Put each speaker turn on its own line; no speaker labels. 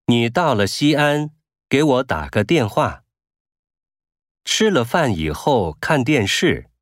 你到了西安，给我打个电话。吃了饭以后看电视。